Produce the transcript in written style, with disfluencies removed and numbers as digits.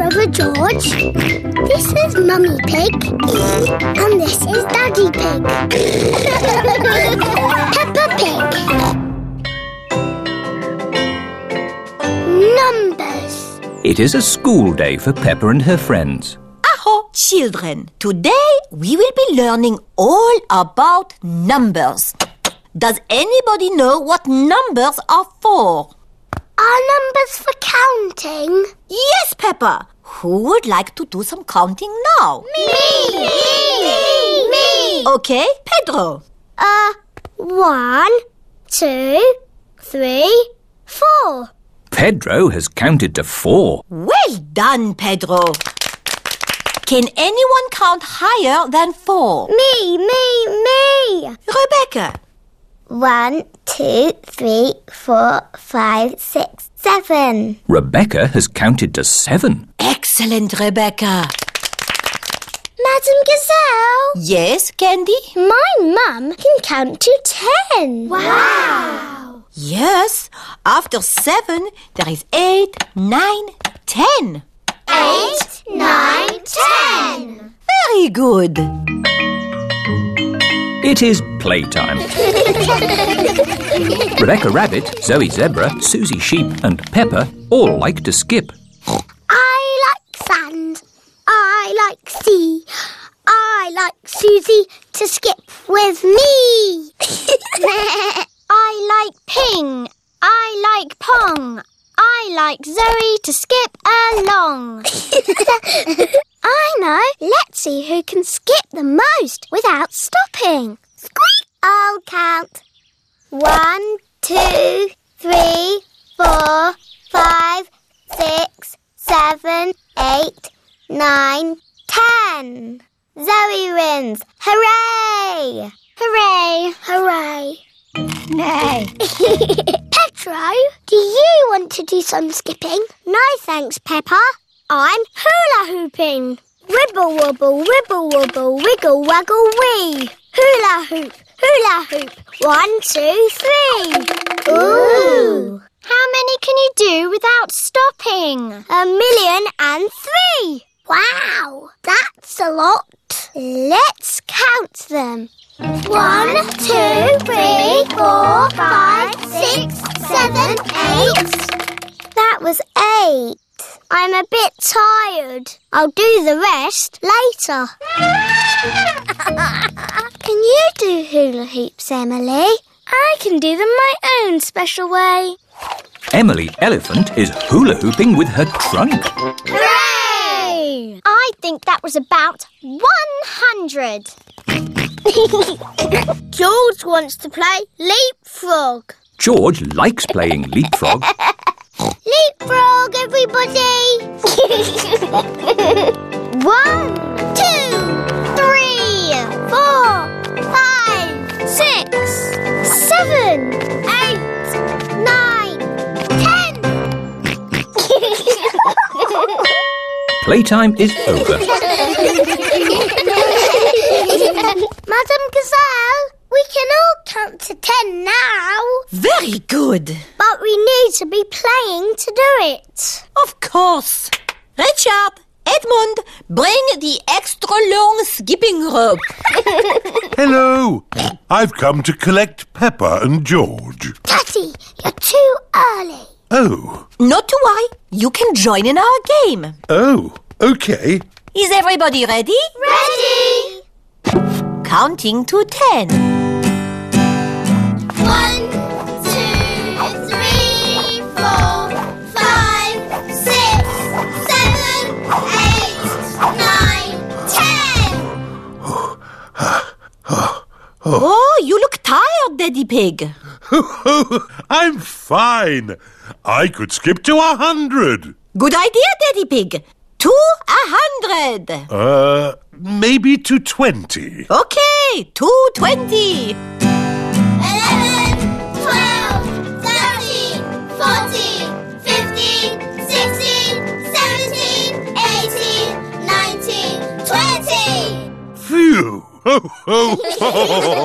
Brother George. This is Mummy Pig. And this is Daddy Pig. Peppa Pig. Numbers. It is a school day for Peppa and her friends. Aho, children! Today we will be learning all about numbers. Does anybody know what numbers are for? Are numbers for counting? Yes, Peppa. Who would like to do some counting now? Me! Okay, Pedro. 1, 2, 3, 4. Pedro has counted to 4. Well done, Pedro. Can anyone count higher than 4? Me! Rebecca. 1, 2, 3, 4, 5, 6, 7. Rebecca has counted to 7. Excellent, Rebecca. Madam Gazelle, Yes, Candy? my mum can count to 10. Wow! Yes. After 7, there is 8, 9, 10. 8, 9, 10. Very good. It is playtime. Rebecca Rabbit, Zoe Zebra, Susie Sheep and Peppa all like to skip. I like sand. I like sea. I like Susie to skip with me. I like ping. I like pong. I like Zoe to skip along. I know. Let's see who can skip the most without stopping. Squeak! I'll count. 1, 2, 3, 4, 5, 6, 7, 8, 9, 10. Zoe wins. Hooray! Hooray! Hooray! Nay. Pedro, do you want to do some skipping? No, thanks, Peppa. I'm hula hooping. Wibble wobble, wibble wobble, wiggle waggle wee. Hula hoop, hula hoop. 1, 2, 3. Ooh! How many can you do without stopping? 1,000,003. Wow, that's a lot. Let's count them. 1, 2, 3, 4, 5, 6, 7, 8. That was 8. I'm a bit tired. I'll do the rest later. Can you do hula hoops, Emily? I can do them my own special way. Emily Elephant is hula hooping with her trunk. Hooray! I think that was about 100. George wants to play leapfrog. George likes playing leapfrog. Leapfrog, everybody! 1, 2, 3, 4, 5, 6, 7, 8, 9, 10. Playtime is over. Madam Gazelle, we can all count to 10 now. Very good. But we need to be playing to do it. Of course. Richard, Edmund, bring the extra long skipping rope. Hello. I've come to collect Peppa and George. Daddy, you're too early. Oh. Not to worry. You can join in our game. Oh, OK. Is everybody ready? Ready? Counting to 10. 1, 2, 3, 4, 5, 6, 7, 8, 9, 10. Oh, you look tired, Daddy Pig. I'm fine. I could skip to 100. Good idea, Daddy Pig. To 100. Maybe to 20. Okay, to 20. 11, 12, 13, 14, 15, 16, 17, 18, 19, 20. Phew. Ho, ho, ho.